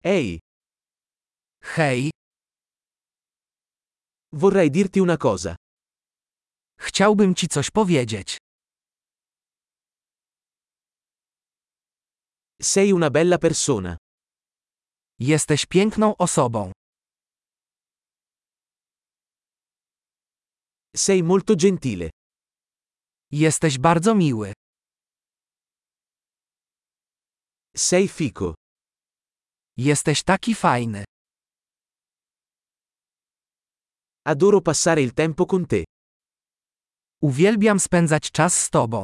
Ehi, Hej, vorrei dirti una cosa. chciałbym ci coś powiedzieć. Sei una bella persona. Jesteś piękną osobą. Sei molto gentile. Jesteś bardzo miły. Sei fico. Jesteś taki fajny. Adoro passare il tempo con te. Uwielbiam spędzać czas z tobą.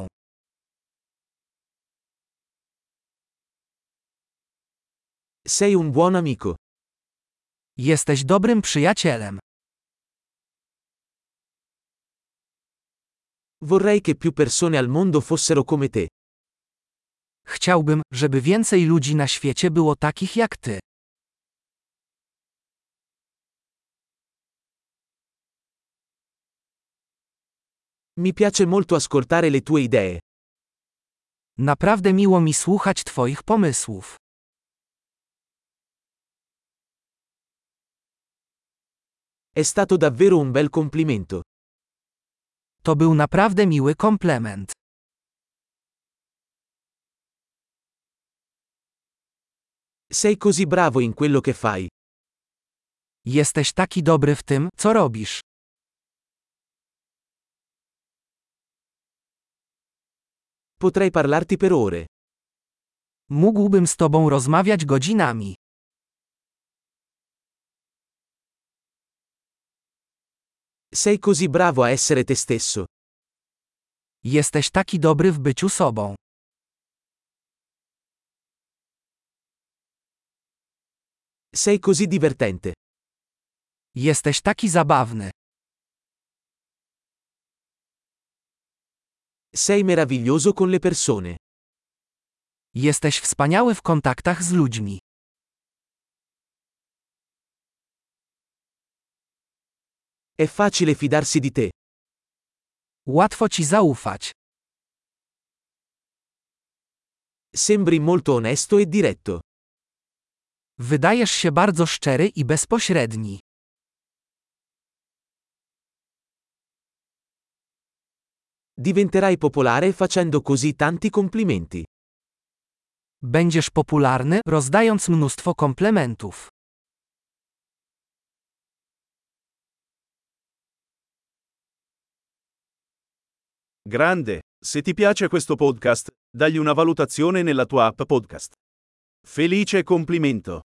Sei un buon amico. Jesteś dobrym przyjacielem. Vorrei che più persone al mondo fossero come te. Chciałbym, żeby więcej ludzi na świecie było takich jak ty. Mi piace molto ascoltare le tue idee. Naprawdę miło mi słuchać twoich pomysłów. È stato davvero un bel complimento. To był naprawdę miły komplement. Sei così bravo in quello che fai. Jesteś taki dobry w tym, co robisz. Potrei parlarti per ore. Mógłbym z tobą rozmawiać godzinami. Sei così bravo a essere te stesso. Jesteś taki dobry w byciu sobą. Sei così divertente. Jesteś taki zabawny. Sei meraviglioso con le persone. Jesteś wspaniały w kontaktach z ludźmi. È facile fidarsi di te. Łatwo ci zaufać. Sembri molto onesto e diretto. Wydajesz się bardzo szczery i bezpośredni. Diventerai popolare facendo così tanti complimenti. Będziesz popularny, rozdając mnóstwo komplementów. Grande, se ti piace questo podcast, dagli una valutazione nella tua app podcast. Felice complimento!